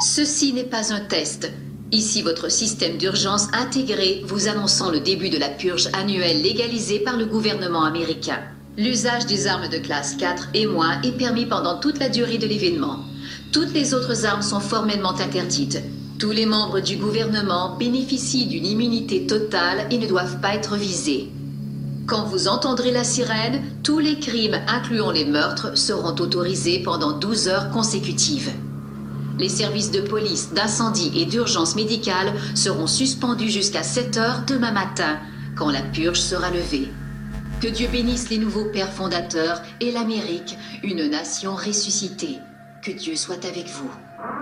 Ceci n'est pas un test. Ici votre système d'urgence intégré vous annonçant le début de la purge annuelle légalisée par le gouvernement américain. L'usage des armes de classe 4 et moins est permis pendant toute la durée de l'événement. Toutes les autres armes sont formellement interdites. Tous les membres du gouvernement bénéficient d'une immunité totale et ne doivent pas être visés. Quand vous entendrez la sirène, tous les crimes, incluant les meurtres, seront autorisés pendant 12 heures consécutives. Les services de police, d'incendie et d'urgence médicale seront suspendus jusqu'à 7 heures demain matin, quand la purge sera levée. Que Dieu bénisse les nouveaux pères fondateurs et l'Amérique, une nation ressuscitée. Que Dieu soit avec vous.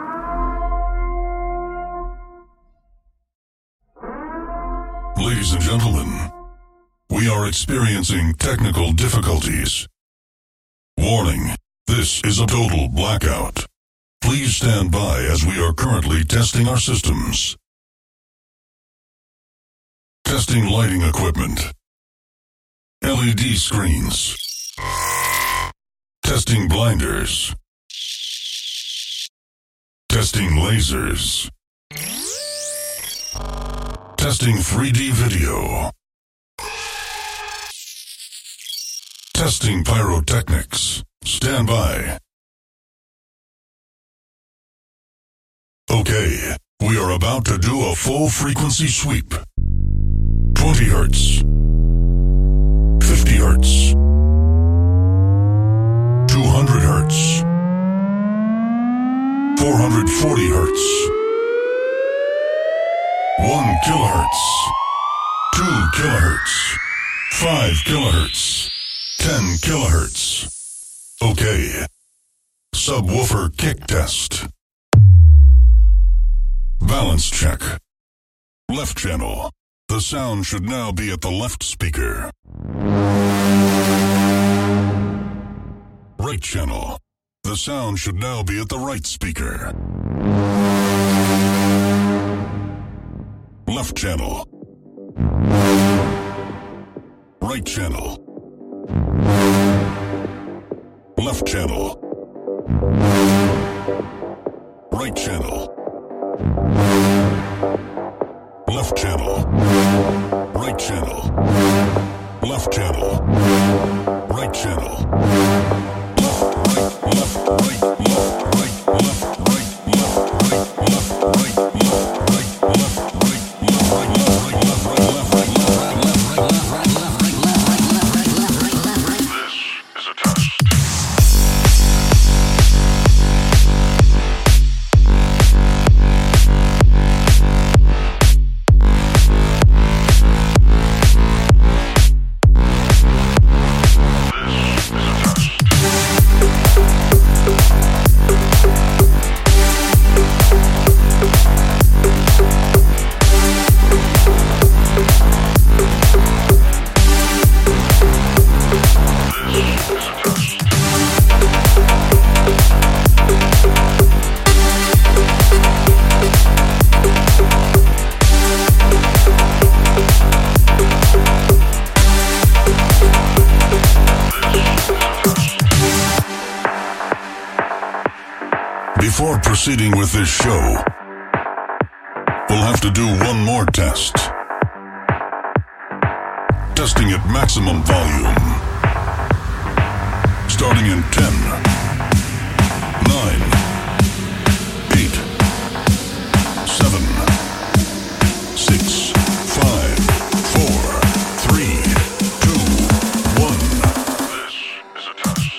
Ladies and gentlemen, we are experiencing technical difficulties. Warning, this is a total blackout. Please stand by as we are currently testing our systems. Testing lighting equipment. LED screens. Testing blinders. Testing lasers. Testing 3D video. Testing pyrotechnics. Stand by. Okay, we are about to do a full frequency sweep. 20 hertz. 50 hertz. 200 hertz. 440 hertz. 1 kilohertz. 2 kilohertz. 5 kilohertz. 10 kilohertz. Okay. Subwoofer kick test. Balance check. Left channel. The sound should now be at the left speaker. Right channel. The sound should now be at the right speaker. Left channel. Right channel. Left channel. Right channel. Left channel. Right channel. Left channel. Right channel. Left, right, left, right, left, right, left, right, left, right, left, right, left, right, left, right, left, right, left, right, left, right, left, right, left, right, left, right, left, right, left, right, left, right, left, right. This is a test. Before proceeding with this show, we'll have to do one more test. Testing at maximum volume. Starting in 10, 9, 8, 7, 6, 5, 4, 3, 2, 1. This is a test.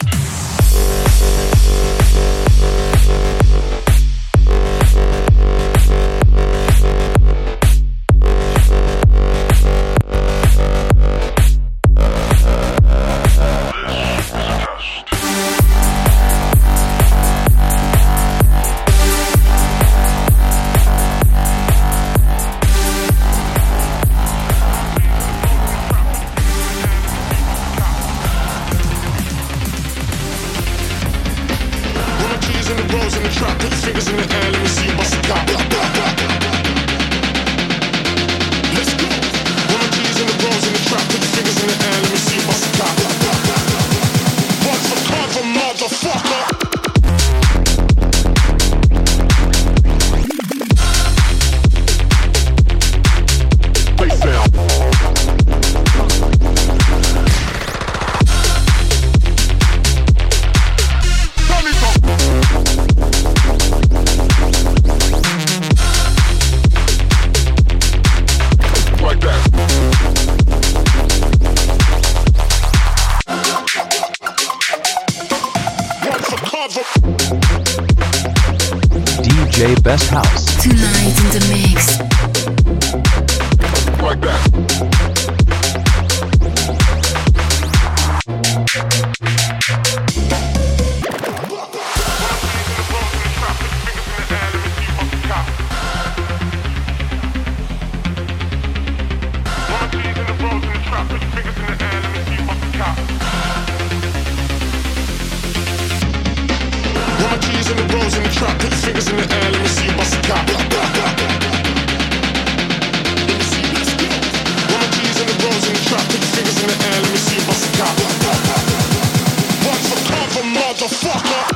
DJ Best House. Tonight in the mix. Like that. In the bros in the trap, put your fingers in the air, let me see you bust a cop. Let me see, let's go. One of G's in the bros in the trap, put your fingers in the air, let me see you bust a cop. One for cover, motherfucker.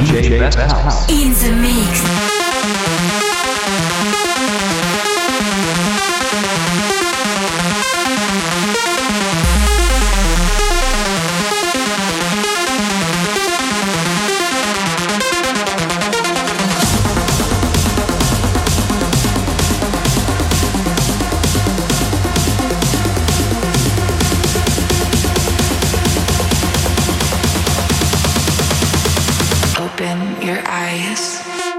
DJ Best House. In the mix. Open your eyes.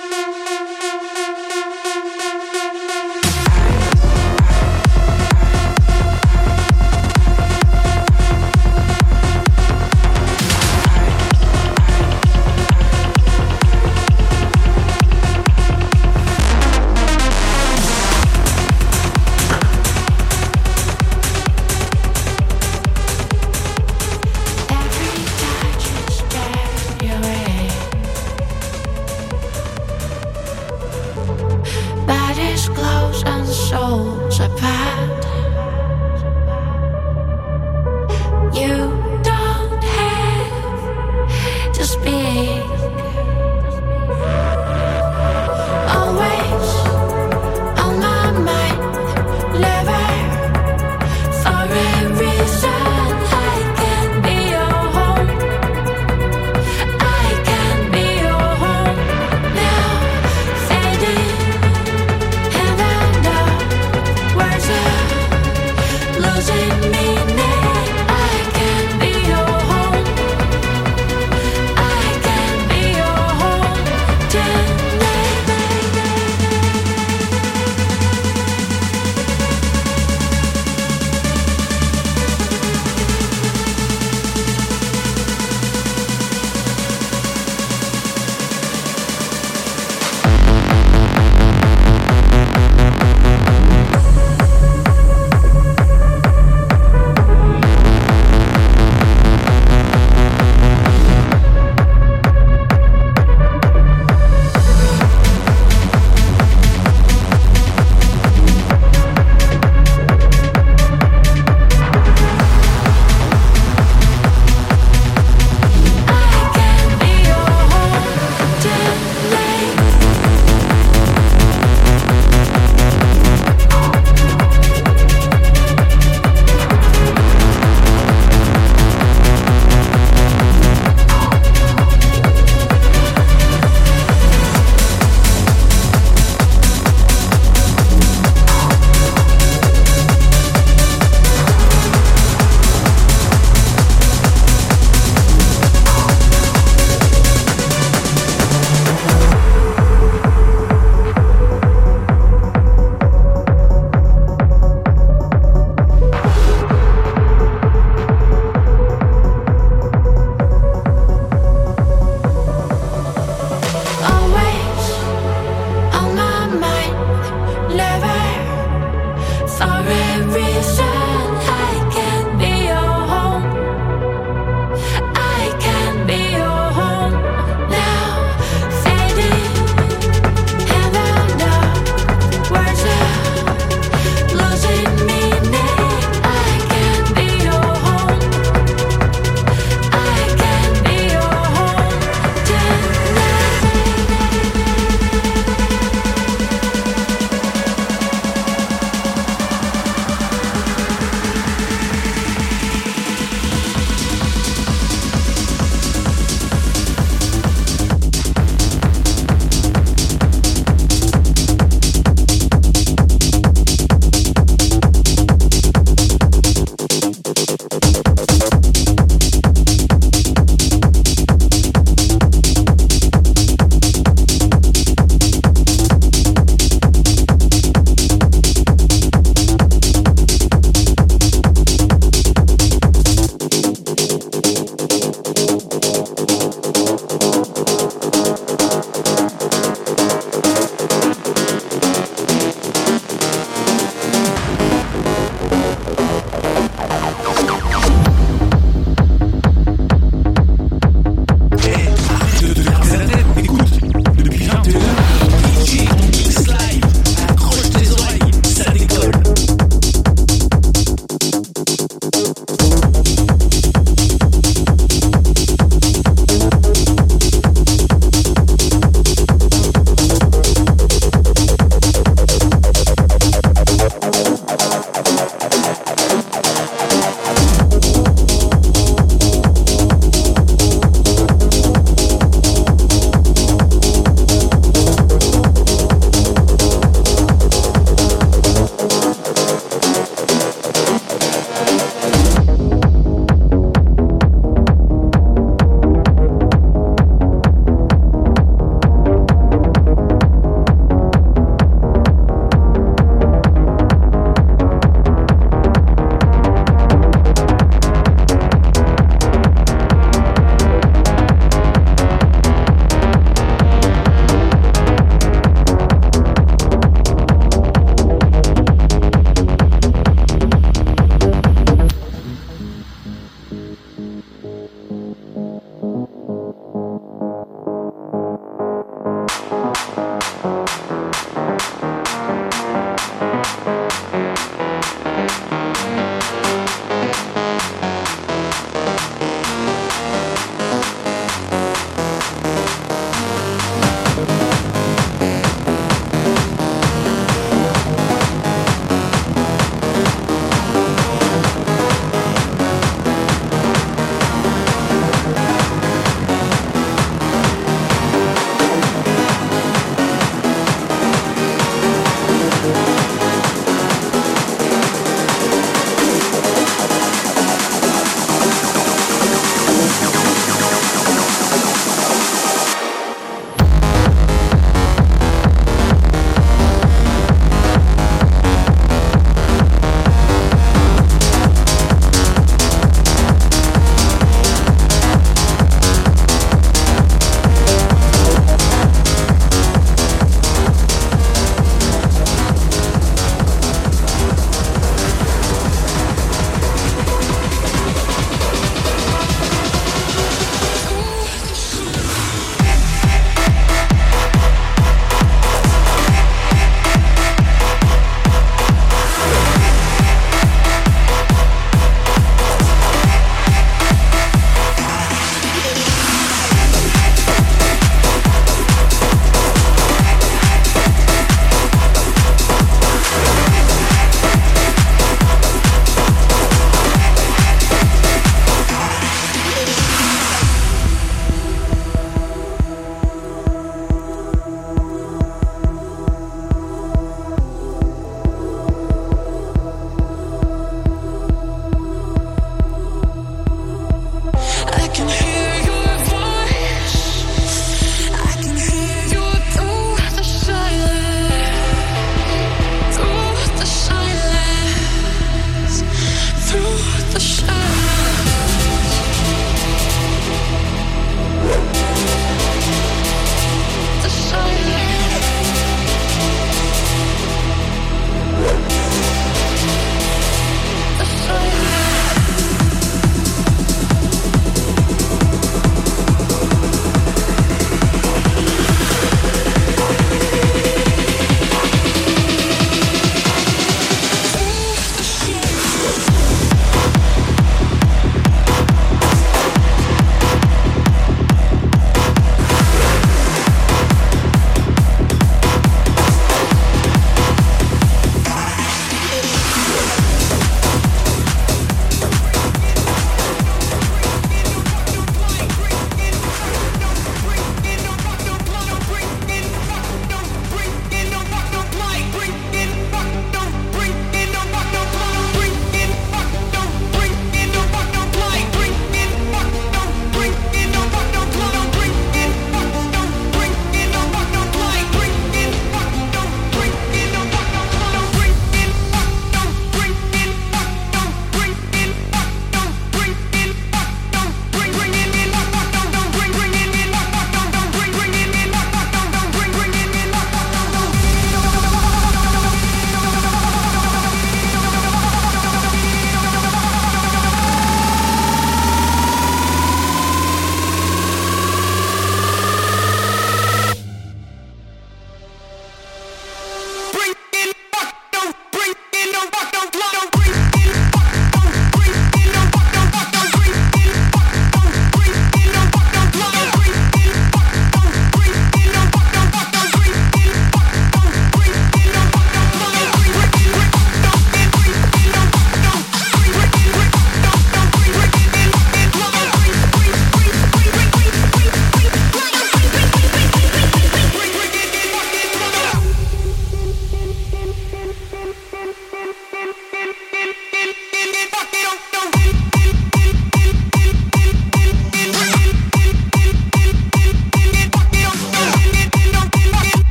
Bodies close and souls apart. You don't have to speak. Always on my mind, never for a reason. I can be your home. I can be your home now, fading. And I know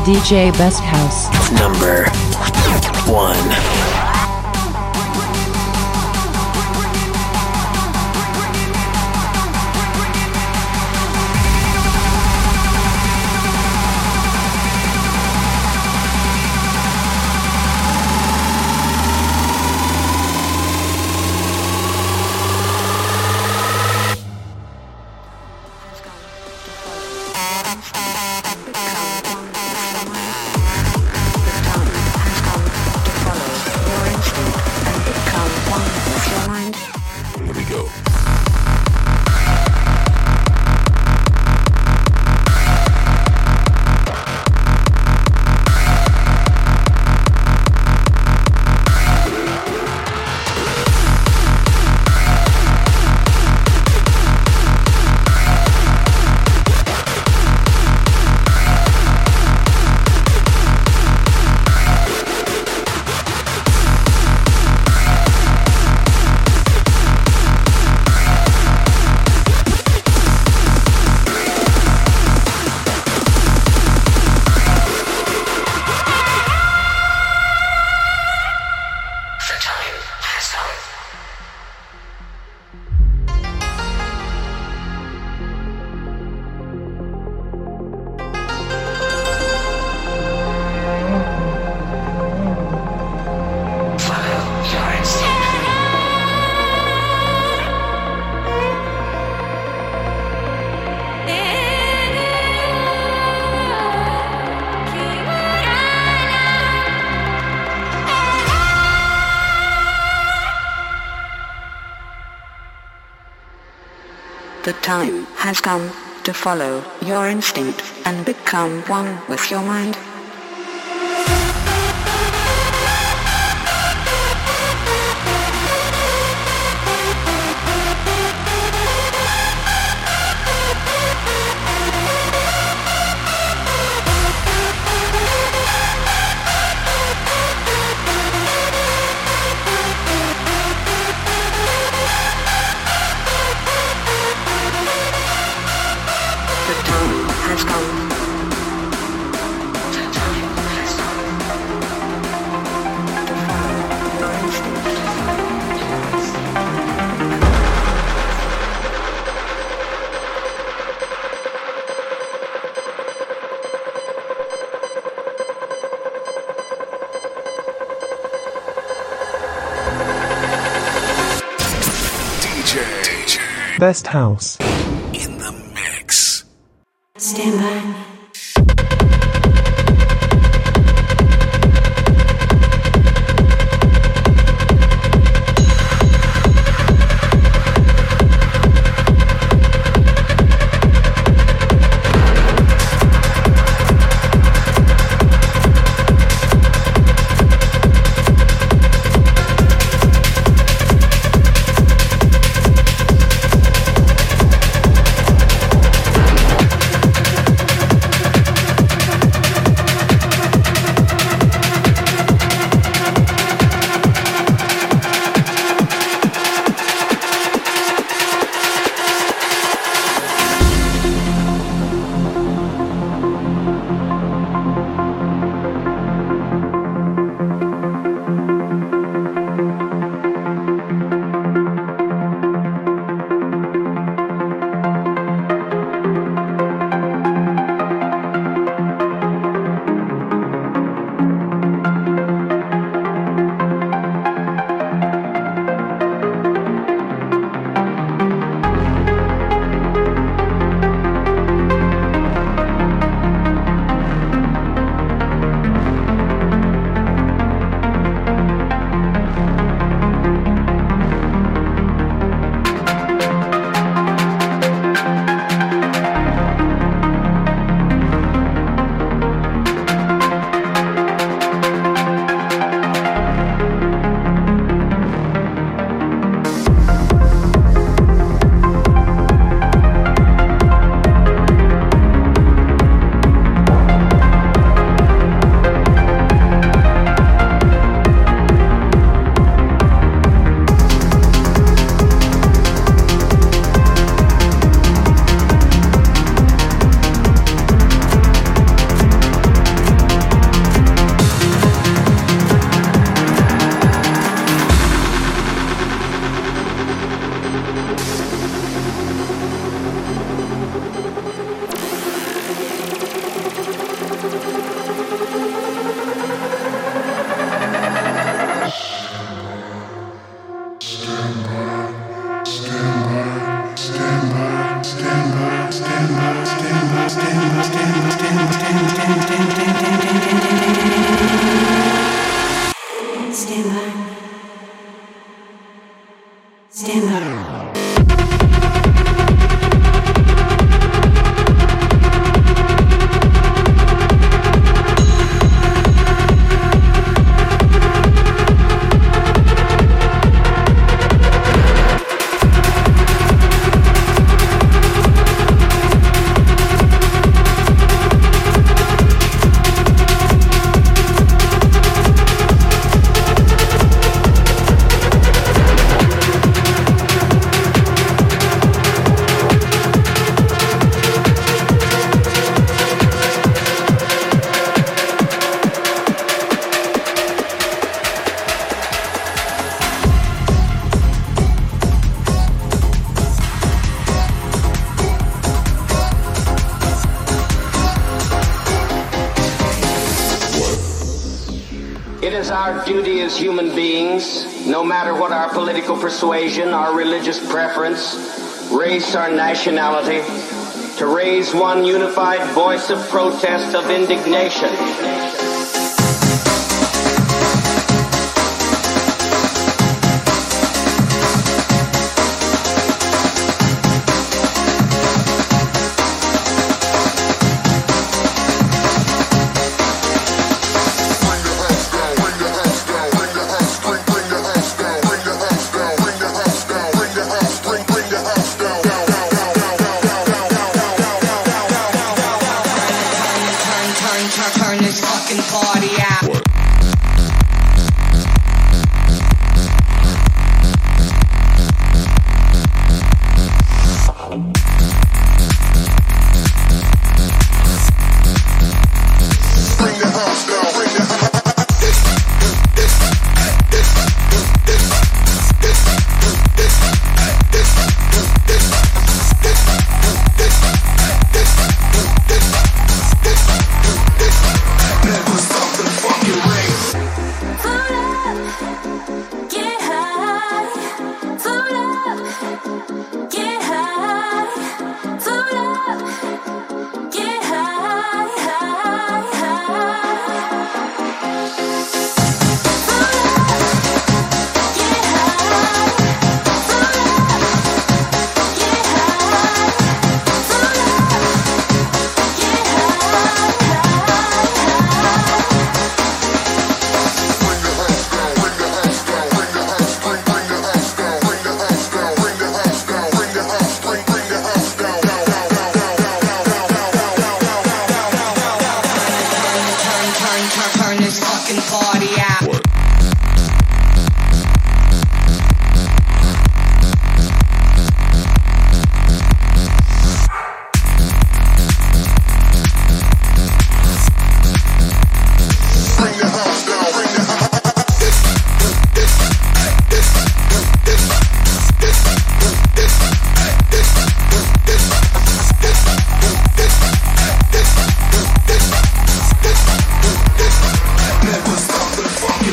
DJ Best House. Number 1. The time has come to follow your instinct and become one with your mind. Best House. In the mix. Stand by. It is our duty as human beings, no matter what our political persuasion, our religious preference, race, or nationality, to raise one unified voice of protest, of indignation. Turn this fucking party out. Bring the house down, bring the house. Never stop the fucking race. Food up, get high. Food up, get high. Food up, get high, high, high. Food up, get high. Food up, get high. Food up, get Turn this fucking party out. Bring the house down, bring the house. Never stop the fucking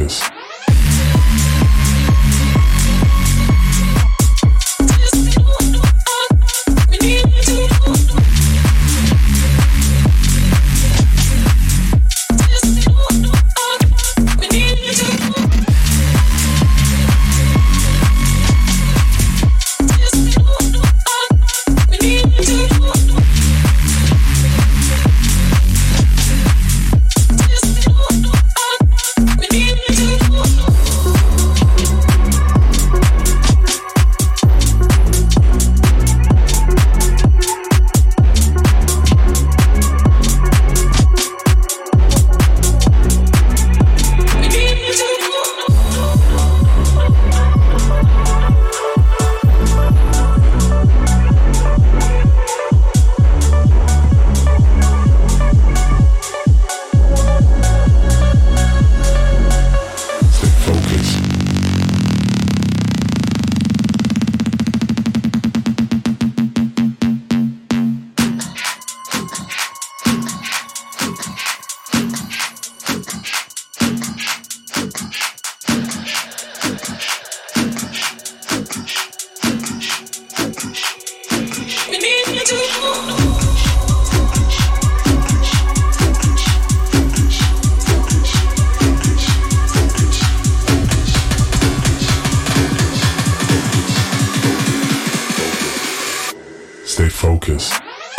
focus. Stay focused.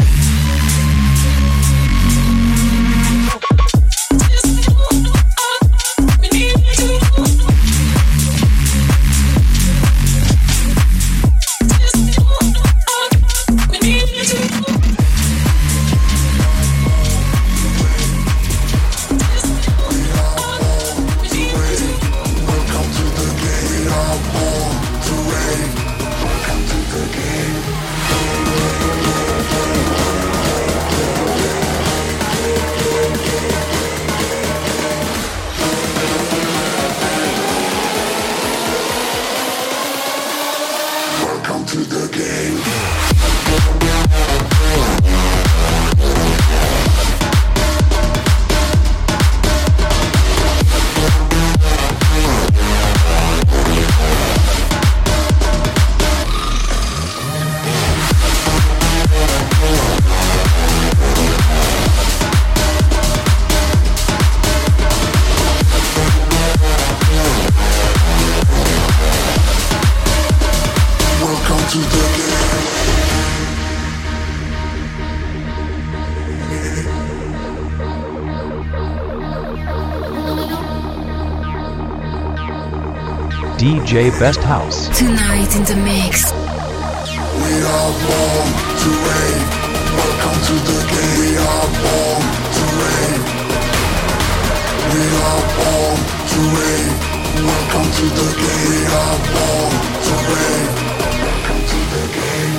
DJ Best House. Tonight in the mix. We are born to rave. Welcome to the game. We are born to rave. We are born to rave. Welcome to the game. We are born to rave. Welcome to the game.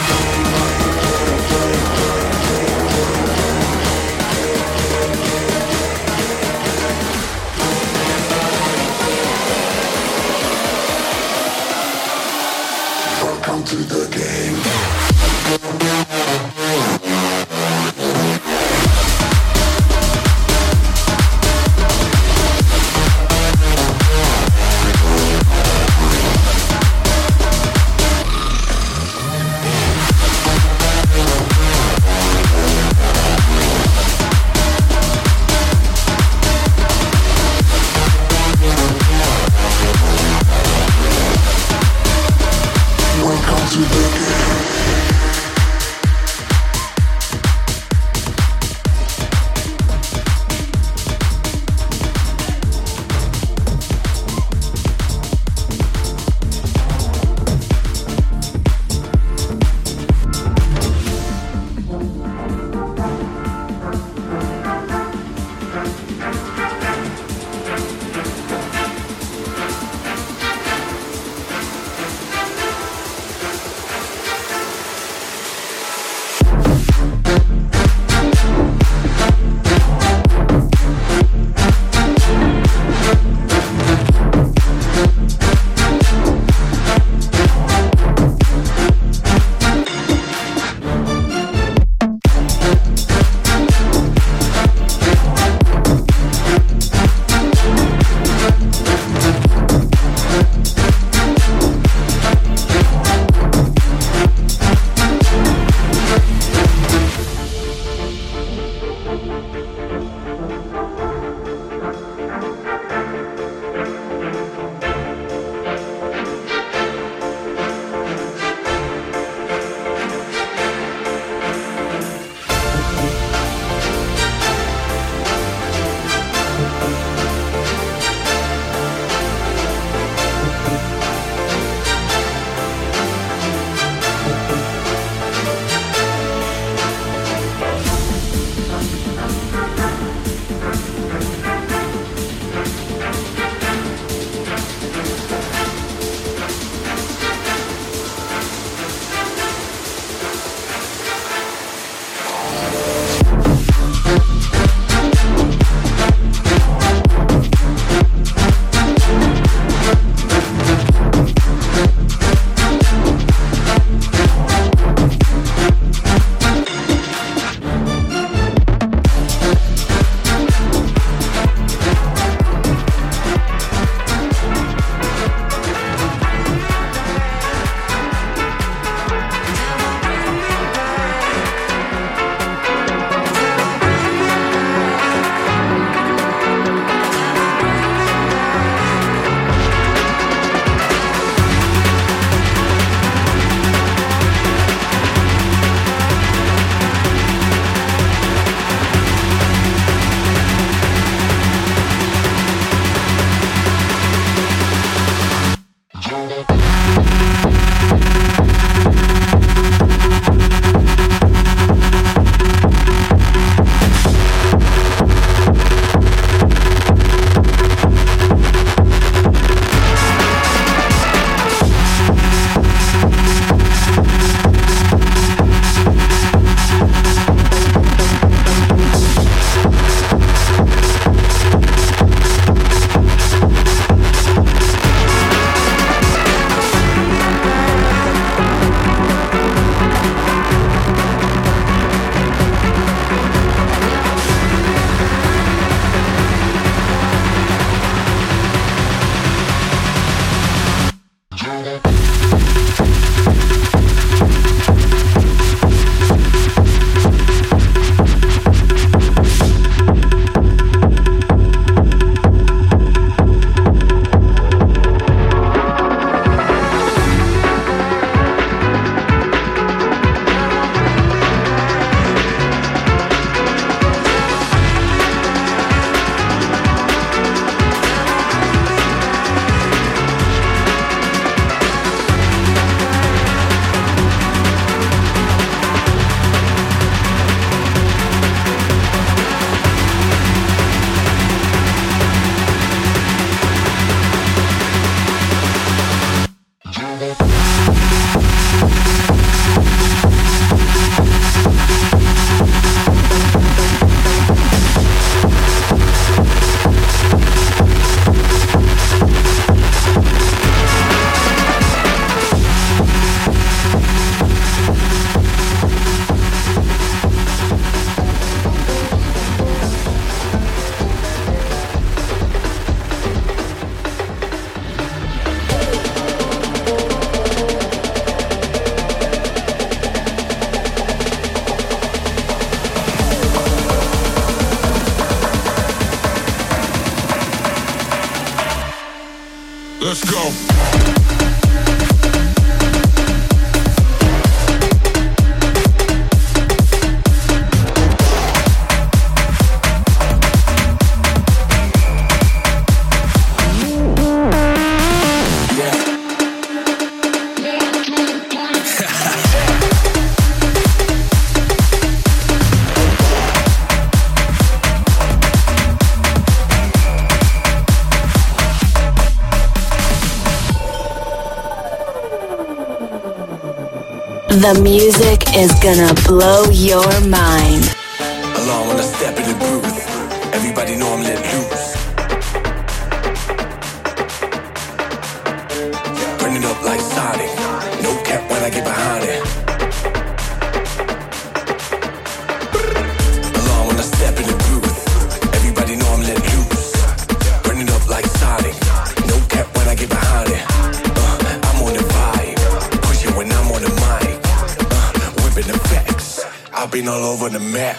Welcome to the game. Let's go. The music is gonna blow your mind. Alarm when I step in the booth. Everybody know I'm let loose. Burn it up like Sonic. No cap when I get behind it. Alarm when I step in the booth. Everybody know I'm let loose. Burn it up like Sonic. No cap when I get behind it. I'm on the vibe. Push it when I'm on the mic. Whipping the facts. I've been all over the map.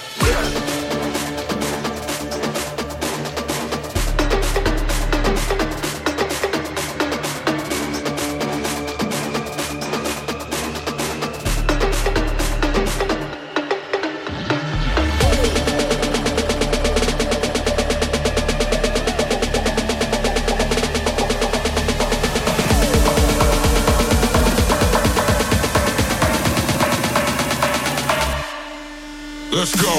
Let's go.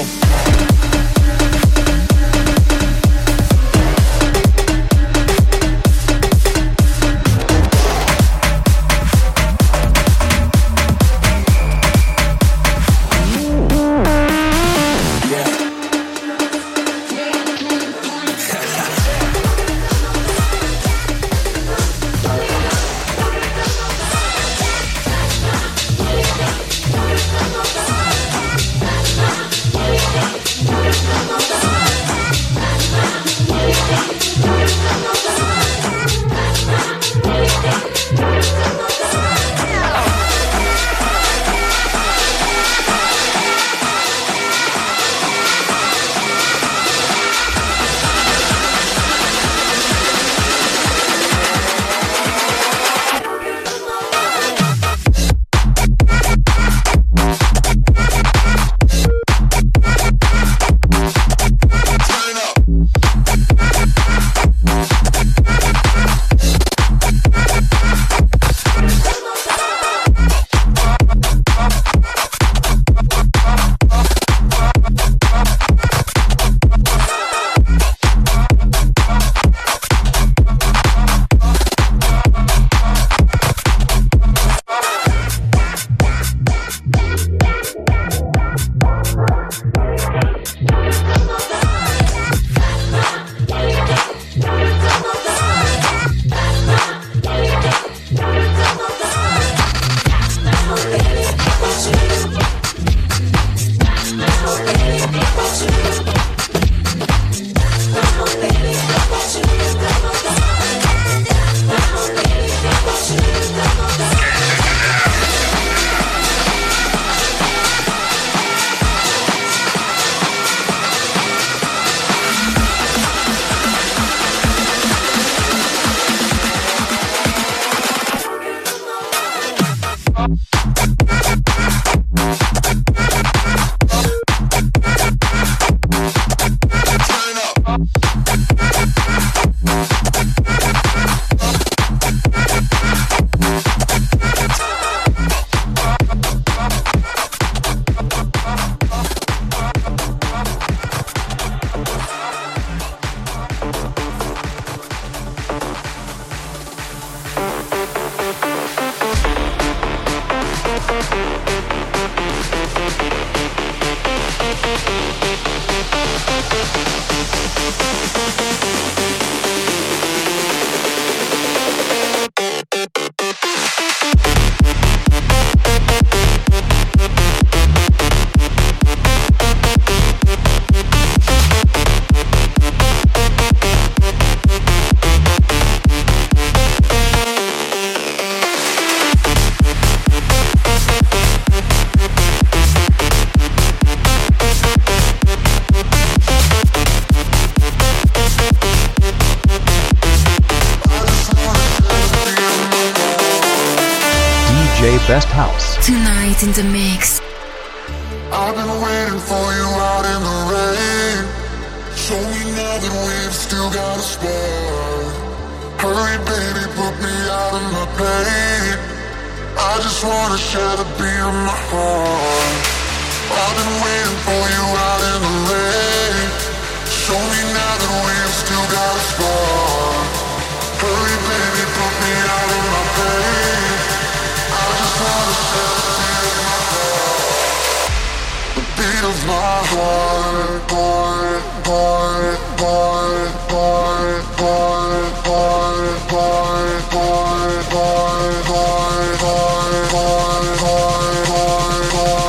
best house. Tonight in the mix. I've been waiting for you out in the rain. Show me now that we've still got a spark. Hurry baby, put me out of my pain. I just wanna share the beat of my heart. I've been waiting for you out in the rain. Show me now that we've still got a spark. Hurry baby, put me out of my pain. I just wanna share the beat of my heart. The beat of my heart, heart, heart, heart, heart, heart, heart, heart, heart, heart, heart, heart, heart, heart, heart,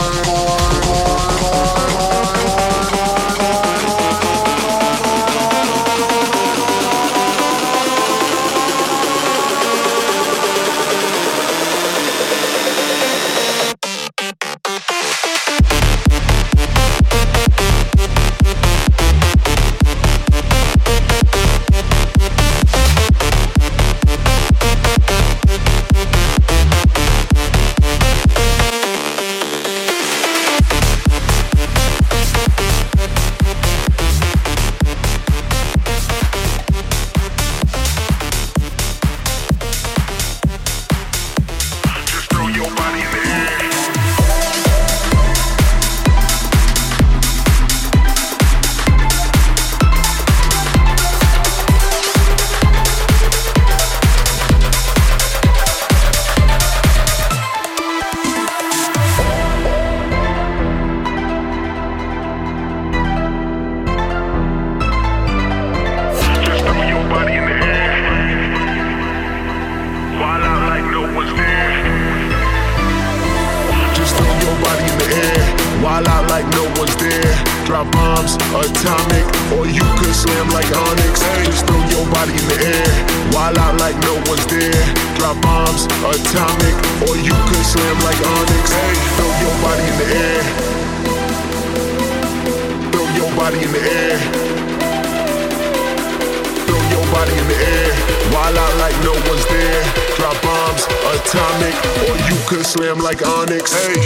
slam like Onyx. Hey.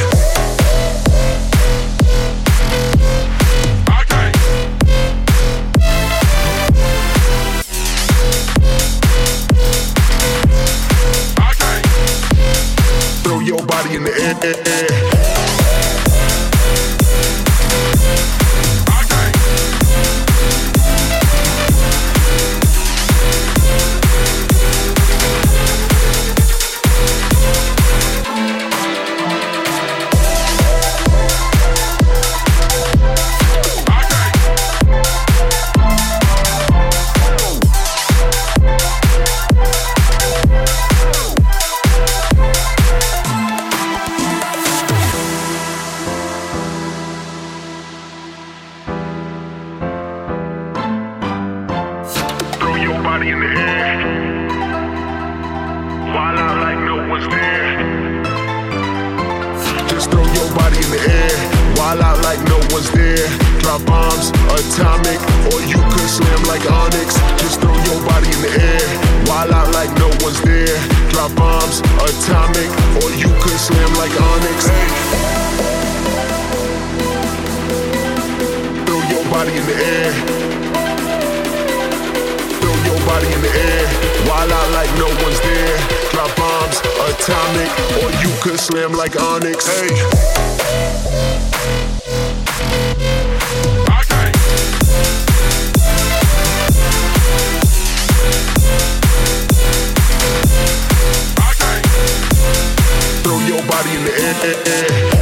Throw your body in the air. Slam like Onyx. Hey. Throw your body in the air.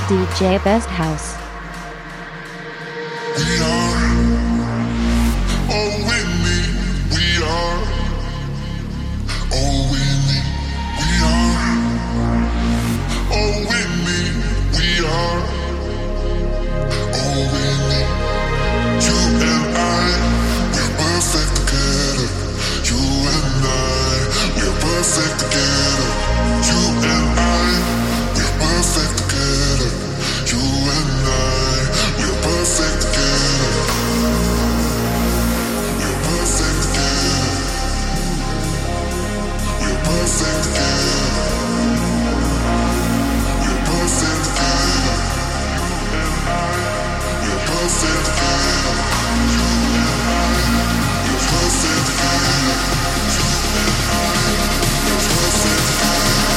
DJ Best House. We are all we need. We are all we need. We are all we need. We are all we need. You and I, we're perfect together. You and I, we're perfect together. You and I, we're perfect together. You and I, we're perfect together. We're perfect together. We're perfect together. We're perfect together. We're perfect together. You and I, we're perfect together. You and I, we're perfect together.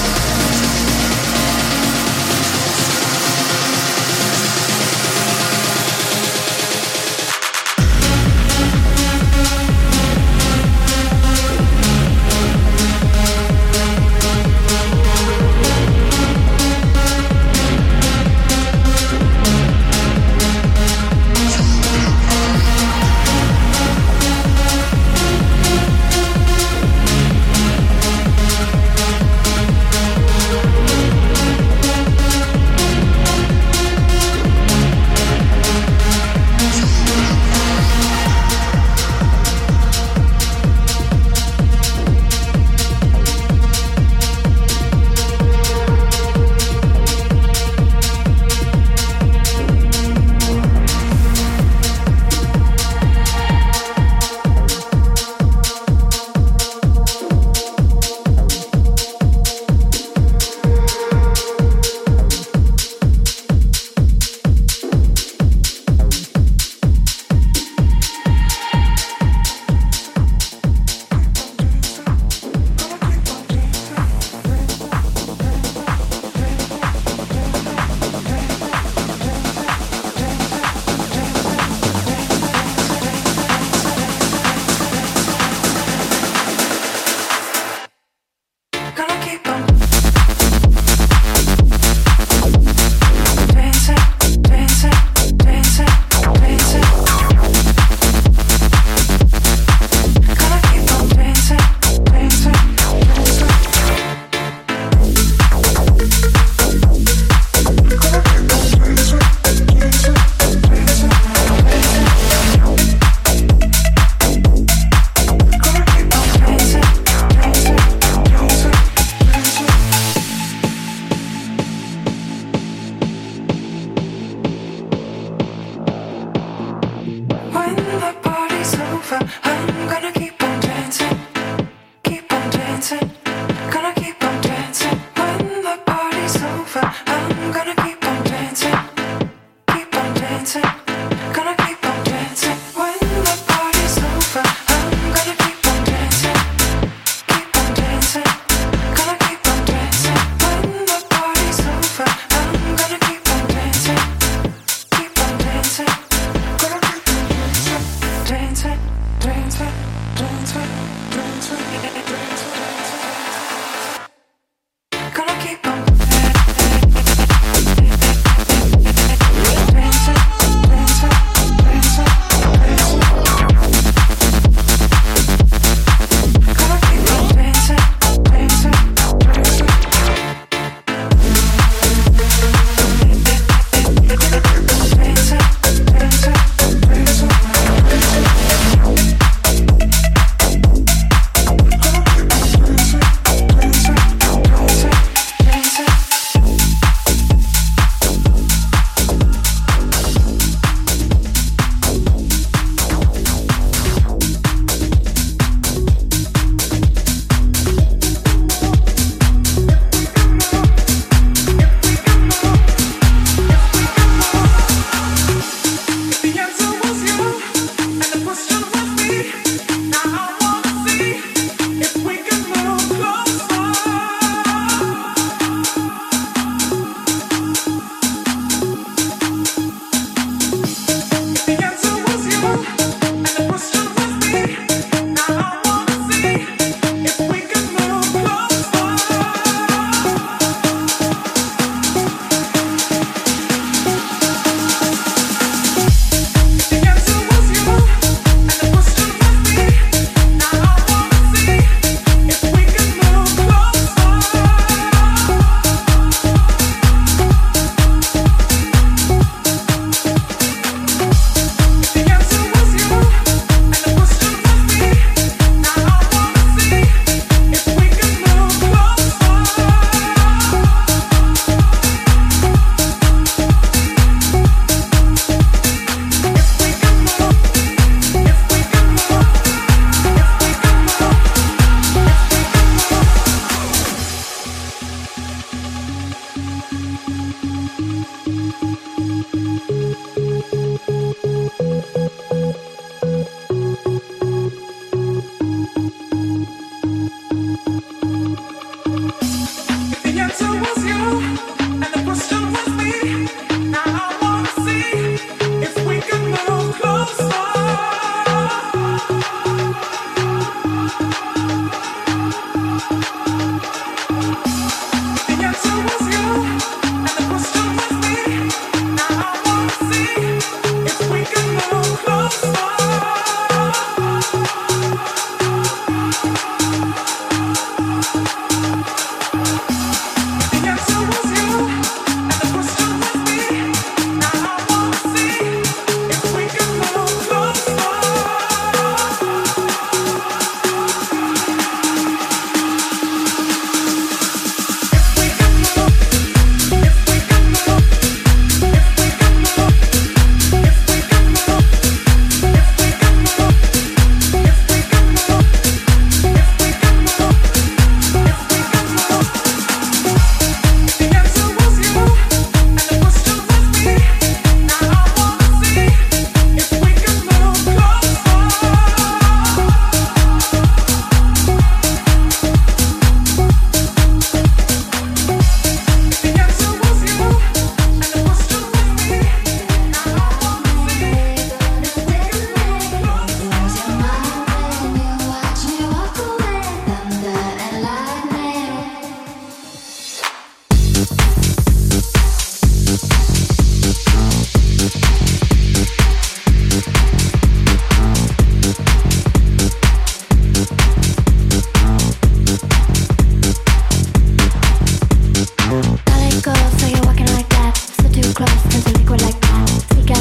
Dancing,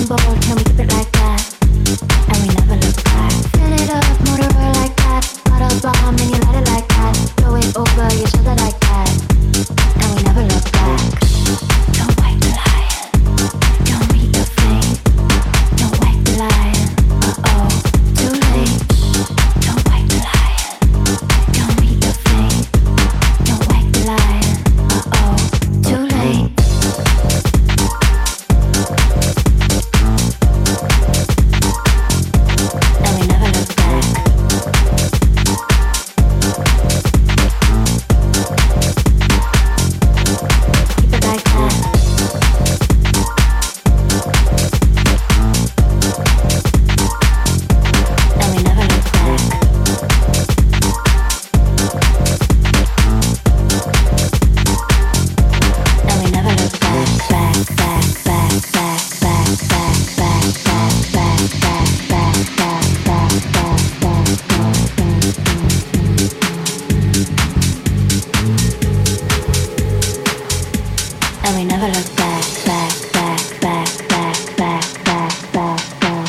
bold, can we keep it like that? And we never look back. Fill it up, motor oil like that. Bottles bomb and you light it like that. Throw it over your shoulder like that. And we never look back. Don't wake the lion. Don't meet the flame. Don't wake the lion. Uh-oh, too late. Don't wake the lion. Don't meet the flame. Don't wake the lion. Uh-oh, too late. And we never look back. Keep it like that. And we never look back. And we never look back, back, back, back, back, back, back, back, back, back, back, back, back, back, back, and we never look back, back, back, back, back, back, back, back, back.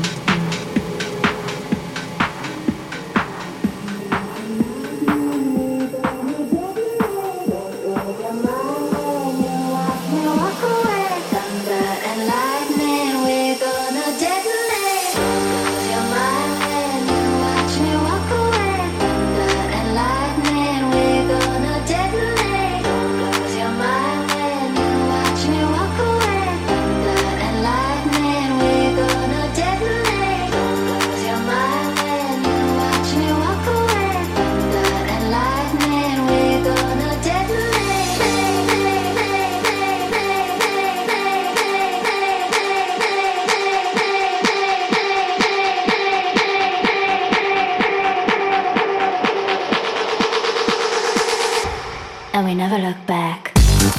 Walk away, thunder and lightning, we're gonna detonate. Lose your mind when you watch me walk away, thunder and lightning, we're gonna detonate. Lose your mind when you watch me walk away, thunder and lightning, we're gonna detonate. Lose your mind when you watch me walk away, thunder and lightning, we're gonna detonate. And we never look back.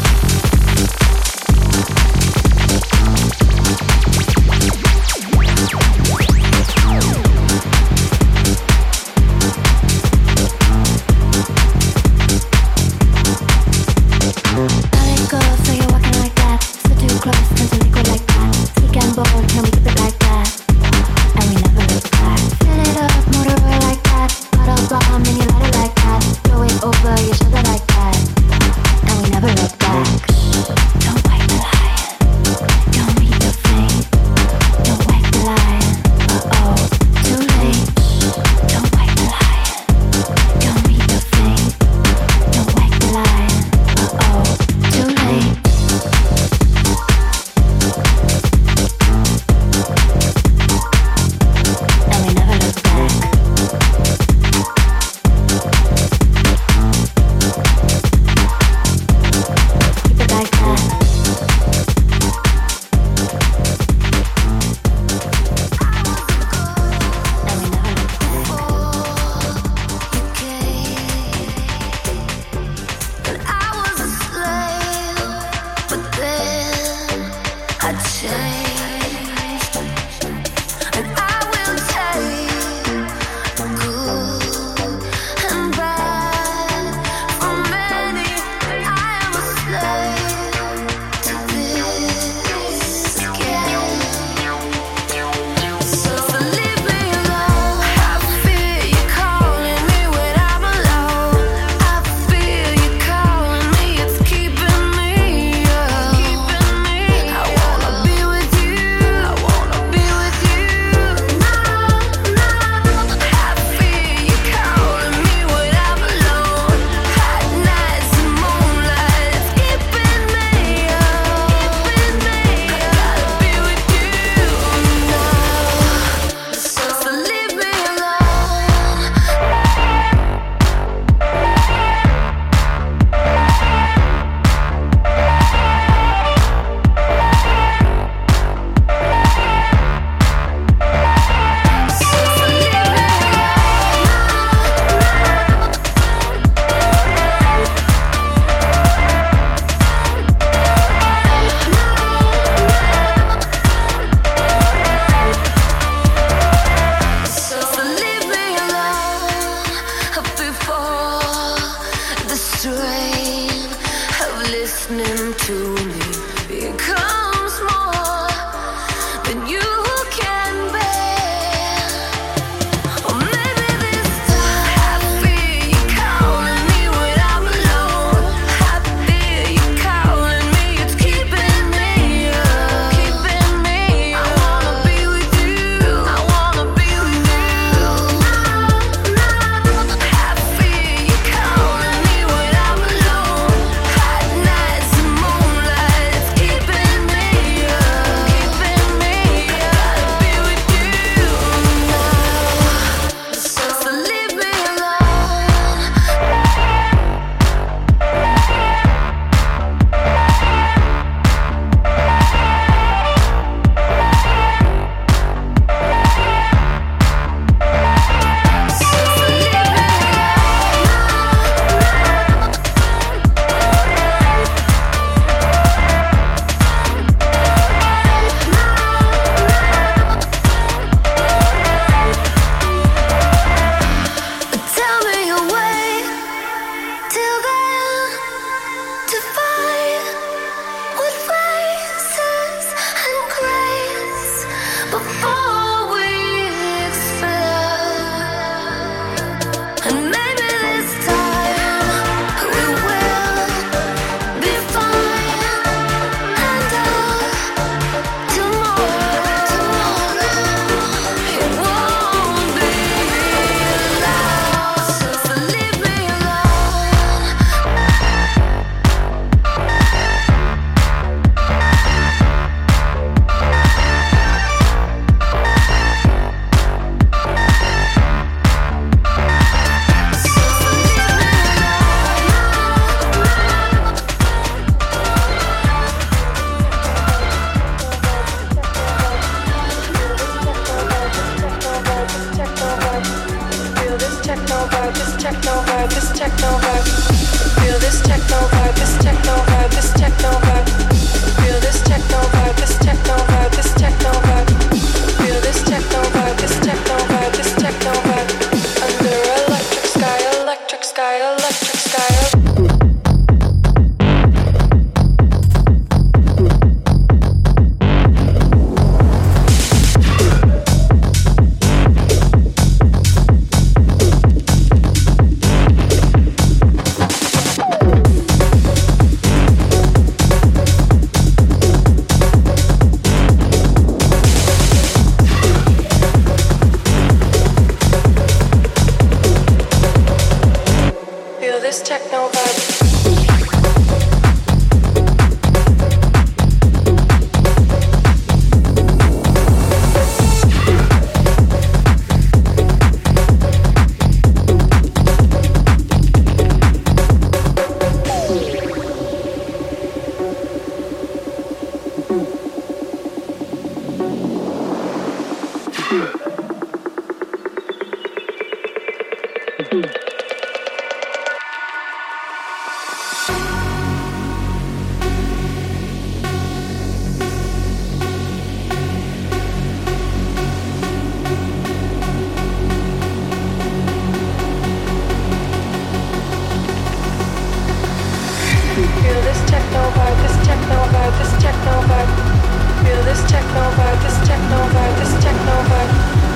Let it go, so you're walking like that. So too close, turn to liquid like that. Sleek and bold, can we keep it like that? And we never look back. Fill it up, motor oil like that. Bottles bomb and you light it like that. Throw it over your shoulder like that. And we never Feel this techno vibe, this techno vibe, this techno vibe.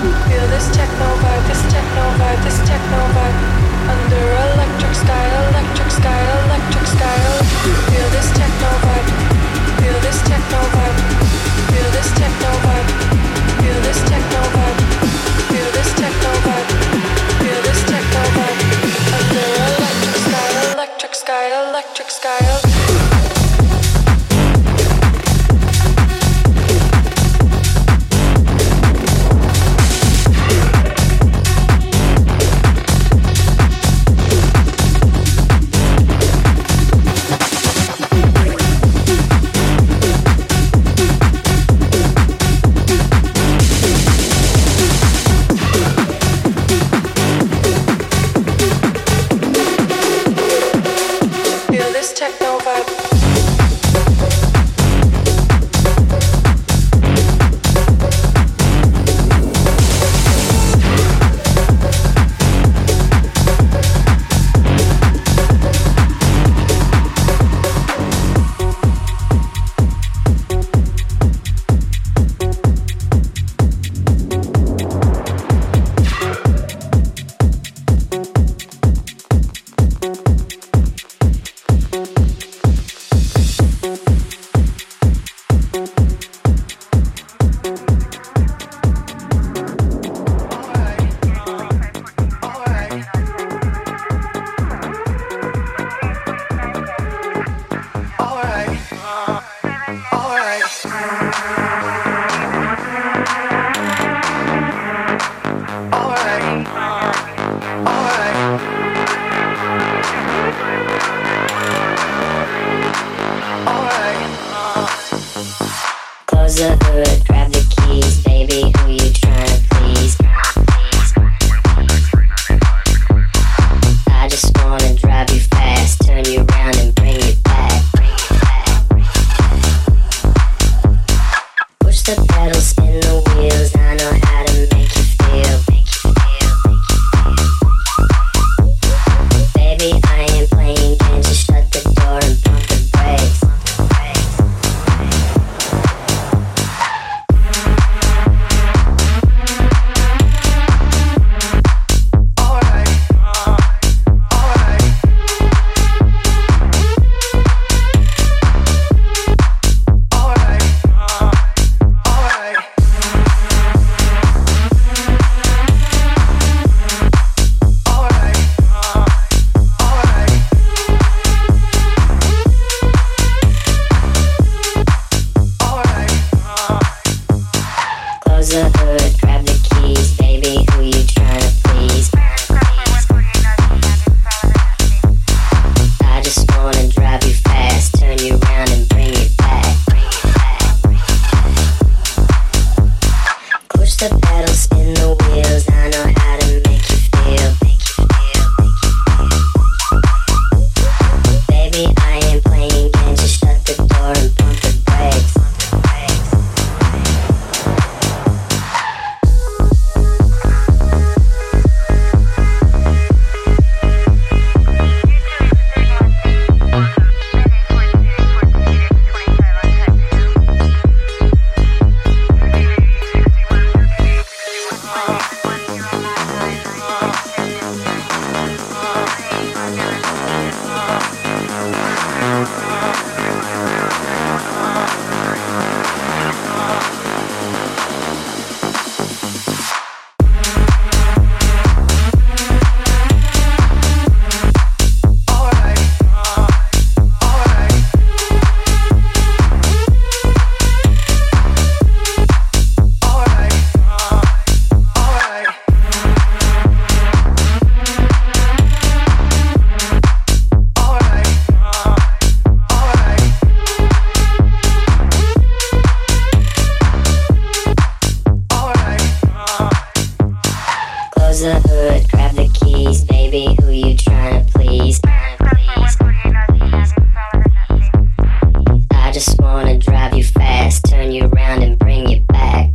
the hood, grab the keys, baby, who you tryna please? I just wanna drive you fast, turn you around and bring you back. Push the pedals, spin the wheels, I know how to make you feel. Baby, I ain't playing games, just shut the door and pump the brakes. The hood, grab the keys, baby, who you tryna please? I just wanna drive you fast, turn you around and bring you back.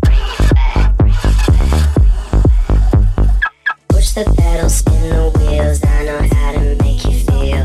Push the pedals, spin the wheels, I know how to make you feel.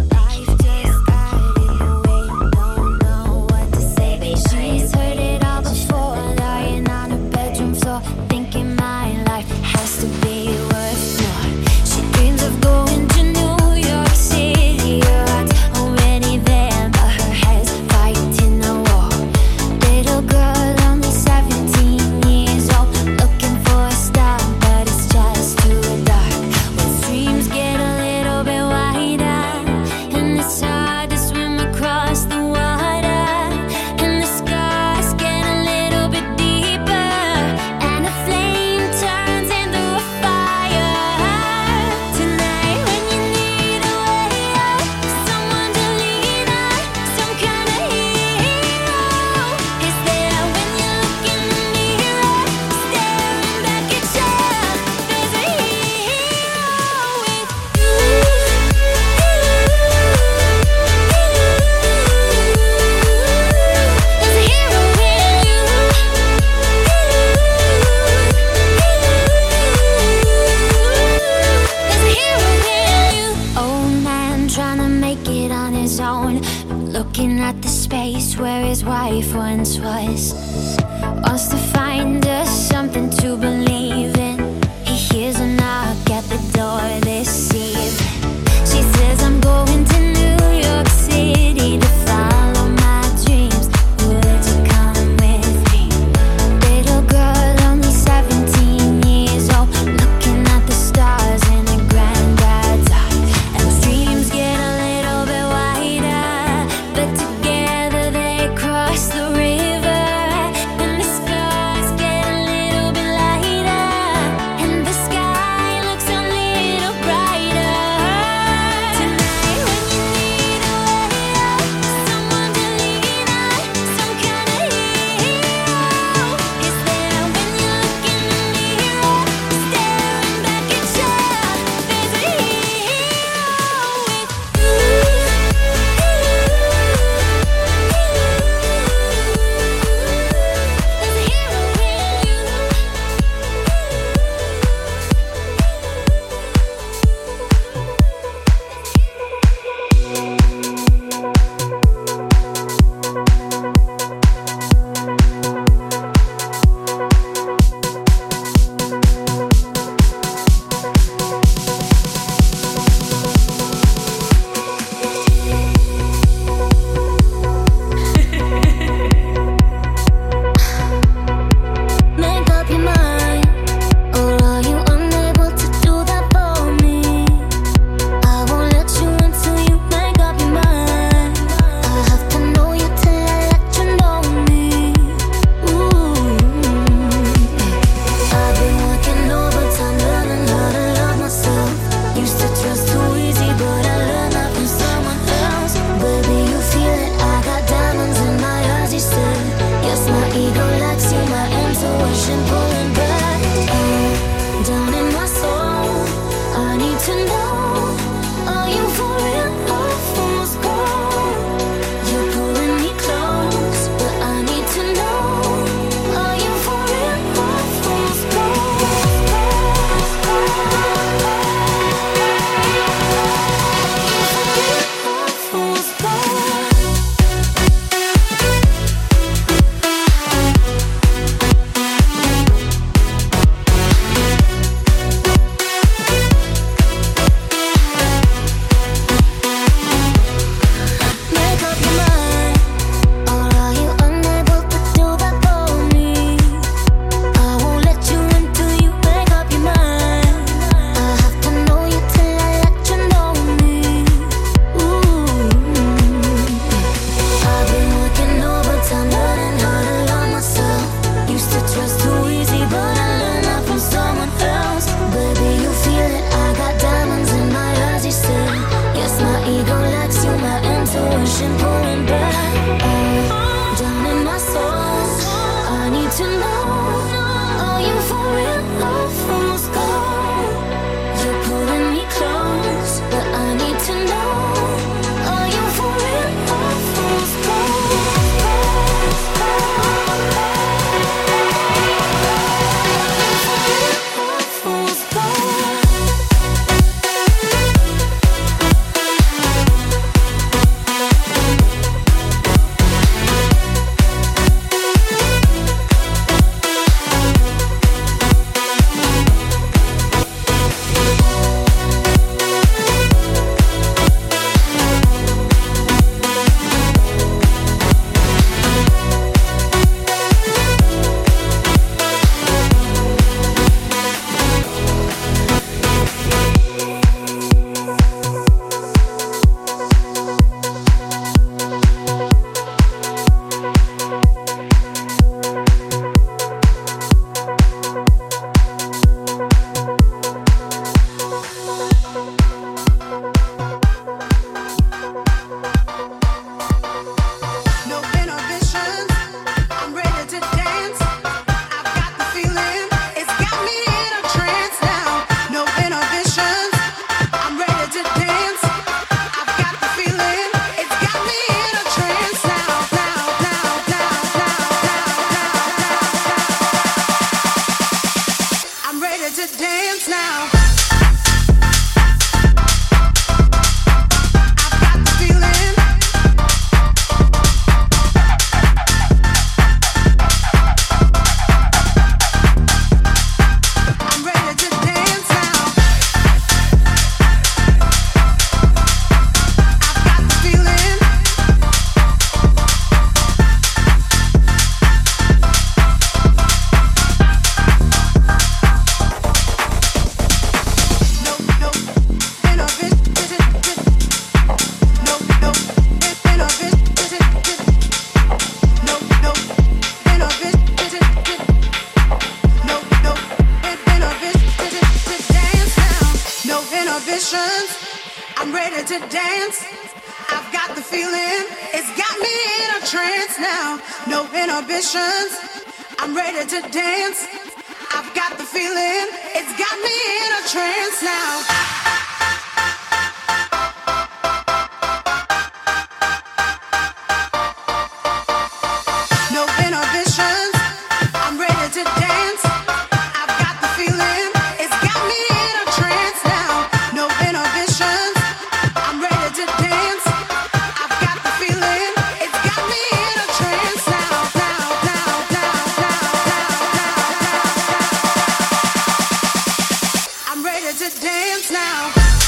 She's heard it all before, lying on her bedroom floor, thinking my life has to be worth more. She dreams of going to New York City. Her heart's already there, but her head's fighting the war. Little girl, only 17 years old, looking for a star, but it's just too dark. When streams get a little bit wider, and it's hard to swim across the water, and the scars get a little bit deeper, and a flame turns into a fire. Tonight when you need a way out, someone to lean on, some kind of hero is there when you look in the mirror, staring back at you. There's a hero with you. There's a hero in you. There's a hero in you. Old man trying to make it on his own, looking at the space where his wife once was. Wants to find us something to believe in. He hears a knock at the door this eve. She says, I'm going to New York City to follow my dreams. Would you come with me? Little girl, only 17 years old, looking at the stars in her granddad's eye. And those dreams get a little bit wider, but together they cross the river, and the scars get to dance now. I'm ready to dance. I've got the feeling. It's got me in a trance now. No inhibitions. I'm ready to dance. I've got the feeling. It's got me in a trance now. No inhibitions. I'm ready to dance. I've got the feeling. It's got me in a trance now. To dance now.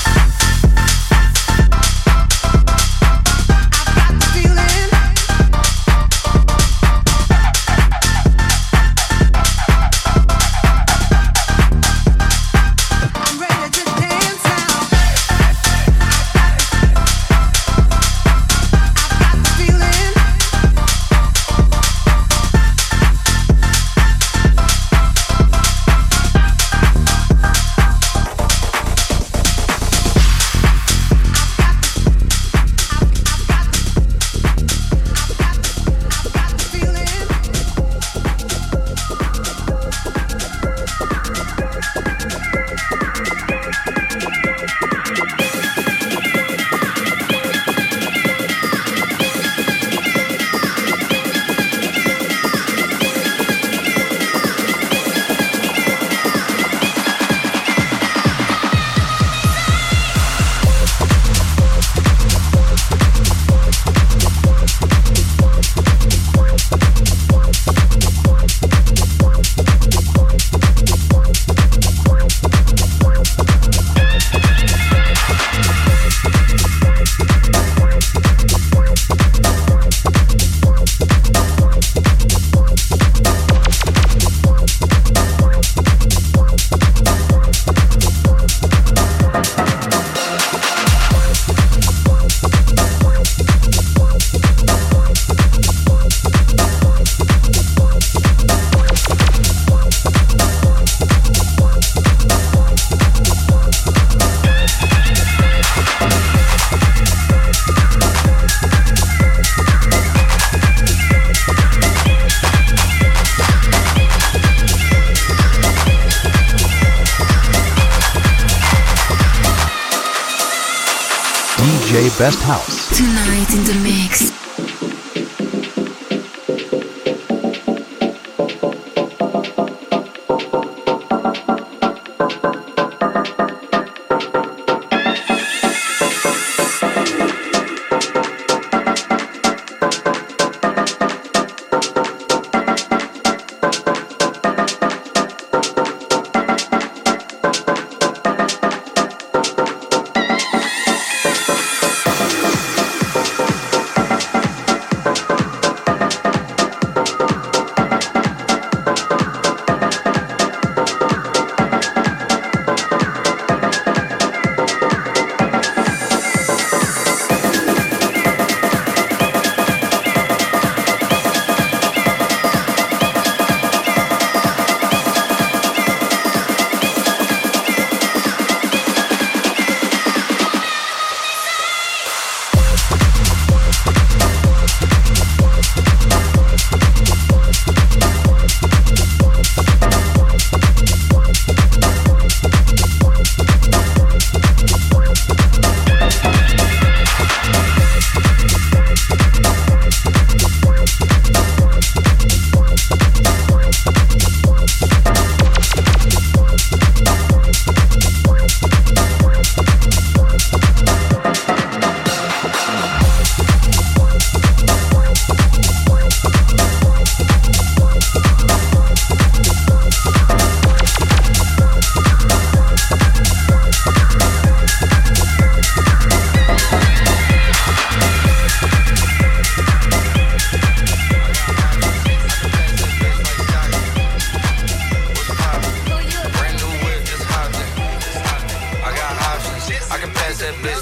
DJ Best House. Tonight in the mix.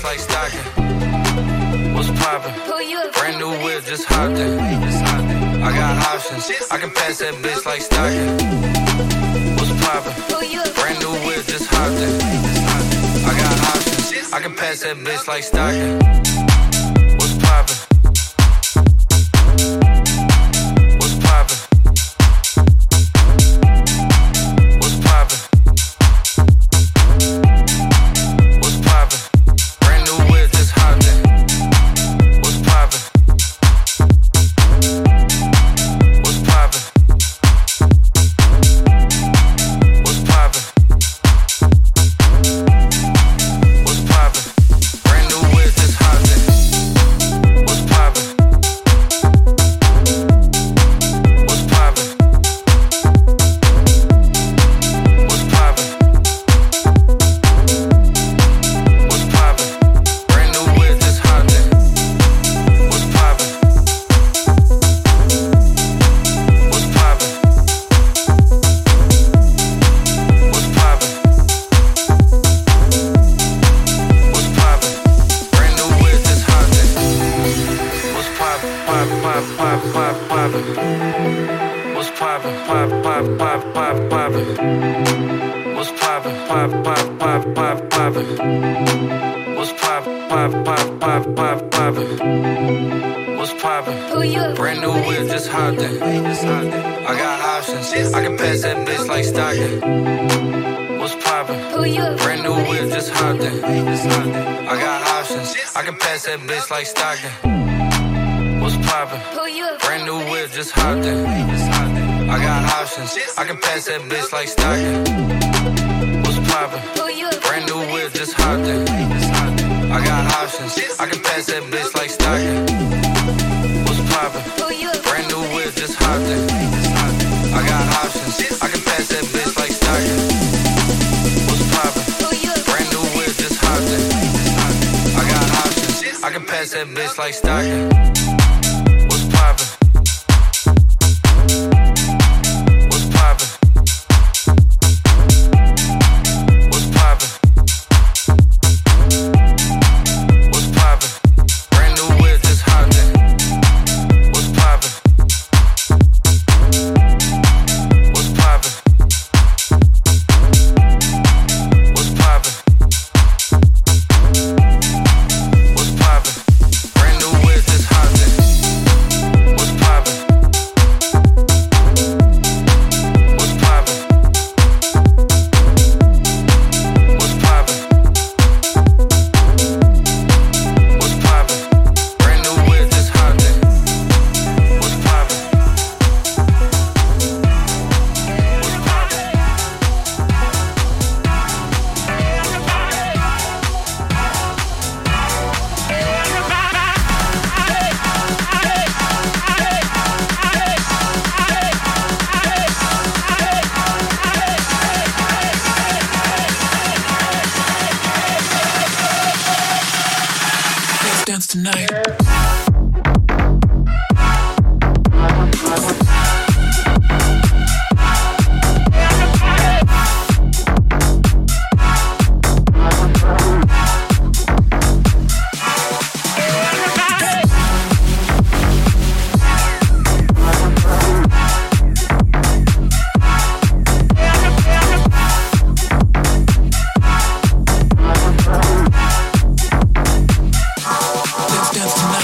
like stocking. What's poppin'? Brand new whip, just hopped in. I got options, I can pass that bitch like stocking. What's poppin'? Brand new whip, just hopped in. I got options, I can pass that bitch like stocking. What's poppin'? What's poppin'? What's poppin'? What's poppin'? Brand new whip, just hopped in. What's poppin'? What's poppin'? What's poppin'? What's poppin'? Brand new whip, just hopped in. What's poppin'? What's poppin'? What's poppin'? What's poppin'? Brand new whip, just hopped in. What's poppin'? What's poppin'? What's poppin'? What's poppin'? Brand new whip, just hopped in. What's poppin'? Poppin', poppin', poppin', poppin', poppin'. What's poppin'? Poppin', poppin', poppin', poppin', poppin'. What's poppin'? Poppin', poppin', poppin', poppin', poppin'. What's poppin'? Poppin', poppin', poppin', poppin', poppin'. What's poppin'? Brand new whip, just hopped in. I got options, I can pass that bitch like stocking. What's poppin'? Brand new whip, just hopped in. I got options, I can pass that bitch like stocking. What's poppin'? Brand new whip, just hopped in. I got options, I can pass that bitch like stocking. What's poppin'? Brand new whip, just hopped in. I got options, I can pass that bitch like stocking. What's poppin'? Brand new whip, just hopped in. I got options, I can pass that bitch like stocking. What's poppin'? Brand new whip, just hopped in. I got options, I can pass that bitch like stocking. What's poppin'? What's poppin'? What's poppin'? What's poppin'? Brand new whip, just hopped in. What's poppin'? What's poppin'? What's poppin'? What's poppin'? Brand new whip, just hopped in. What's poppin'? What's poppin'? What's poppin'? What's poppin'? Brand new whip, just hopped in. What's poppin'? Let's dance tonight. Let's dance tonight.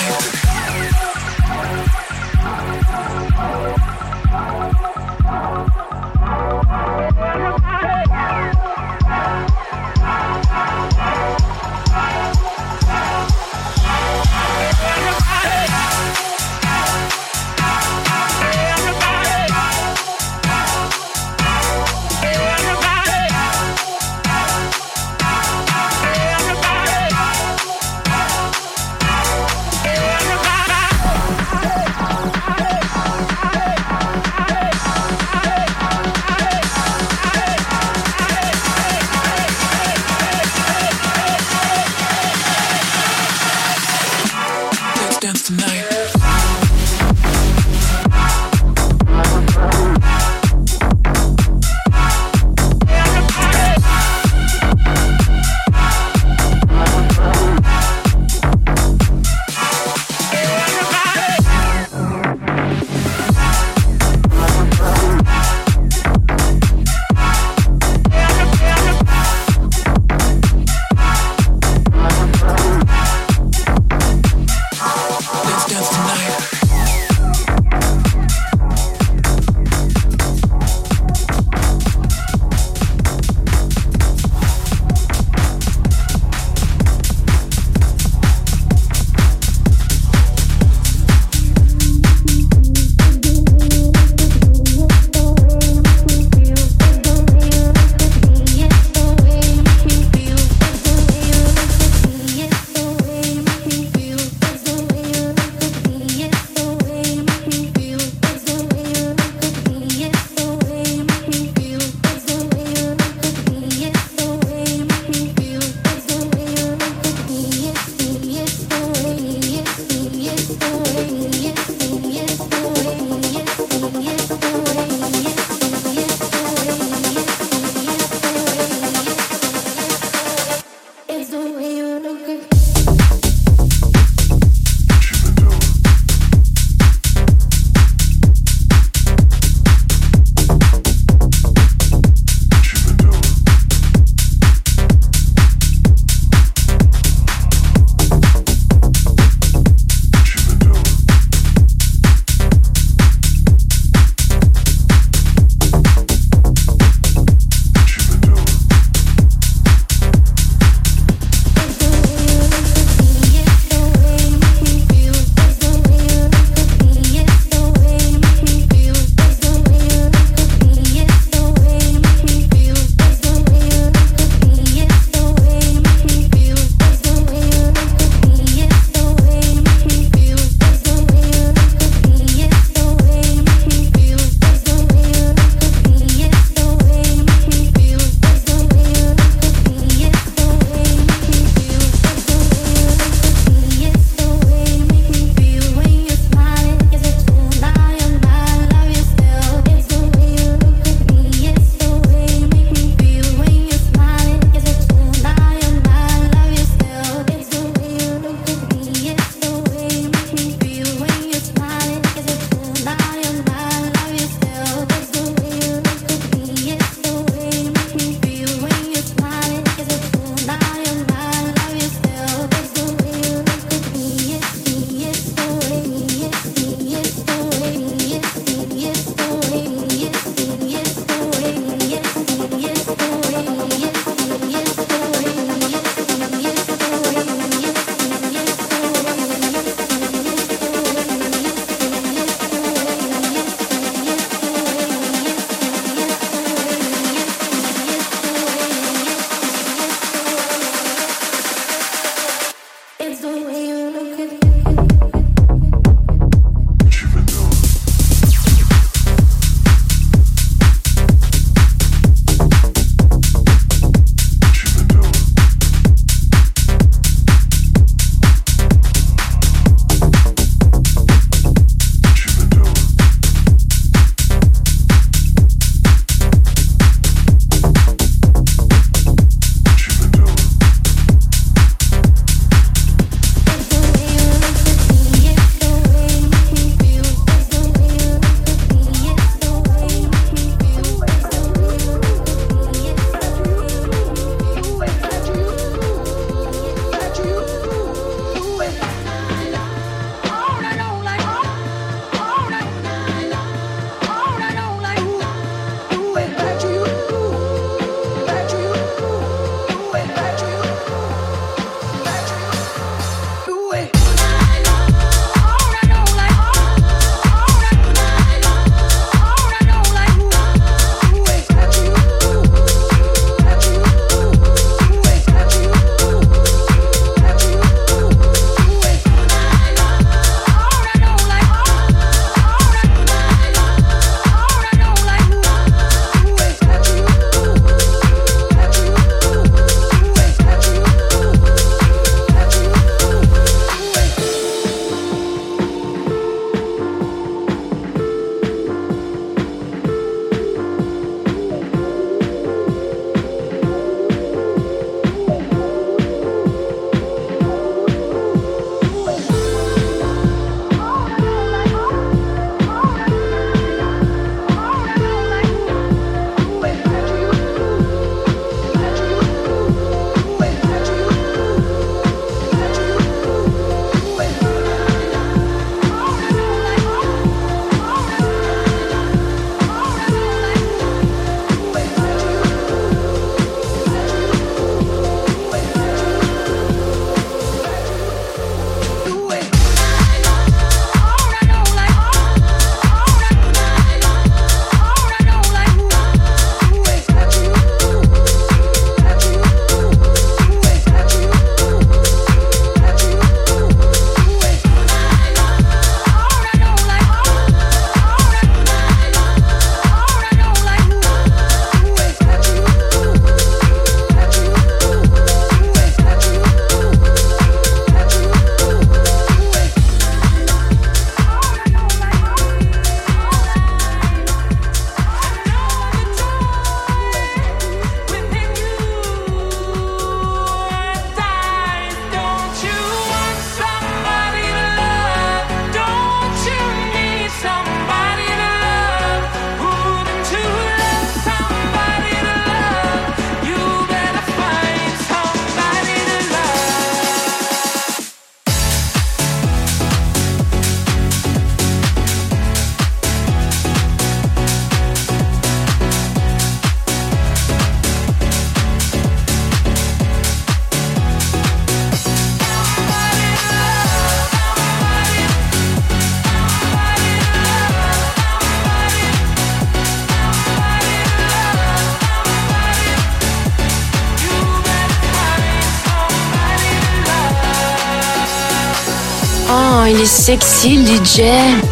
il est sexy, le DJ.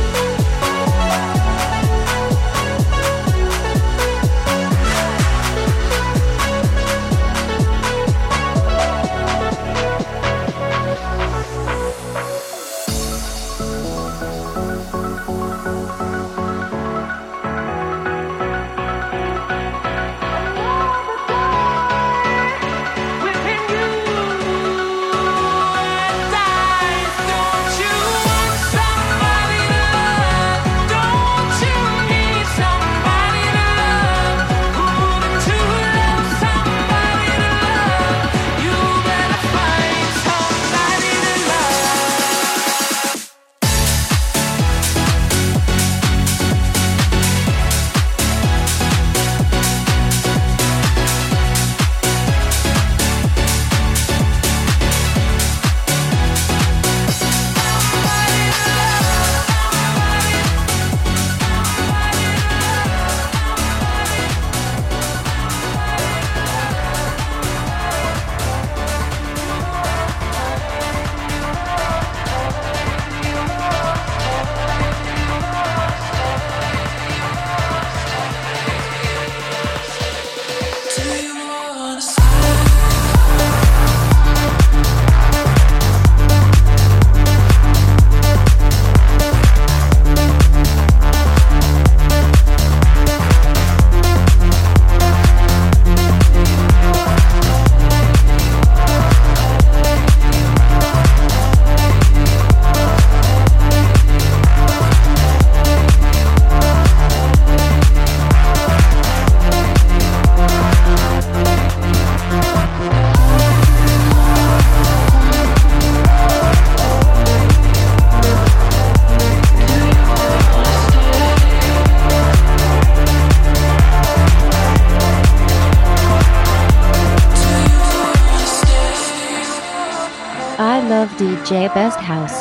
DJ Best House.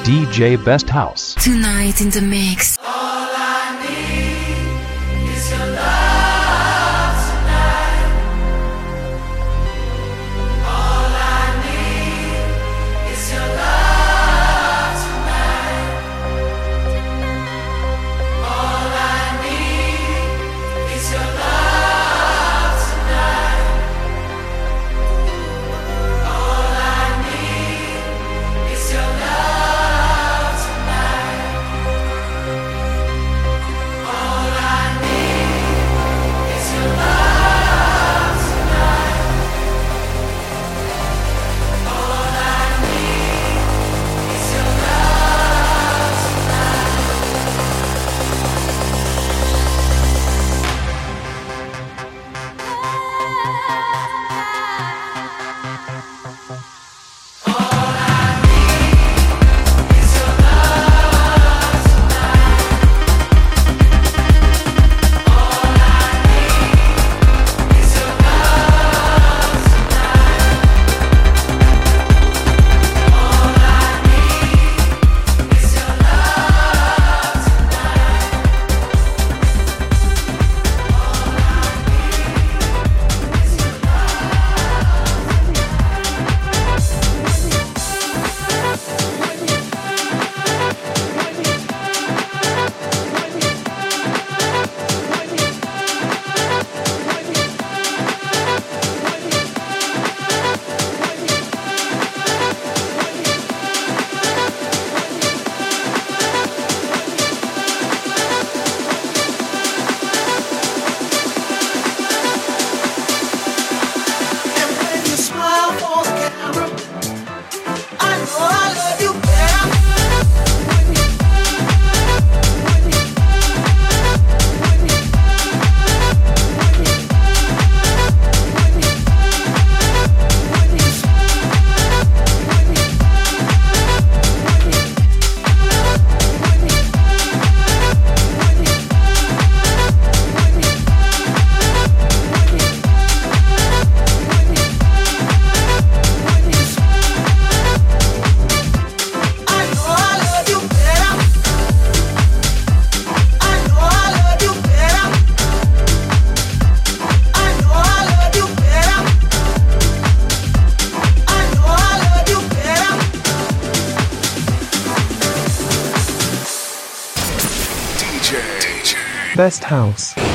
DJ Best House. Tonight in the mix. Best House.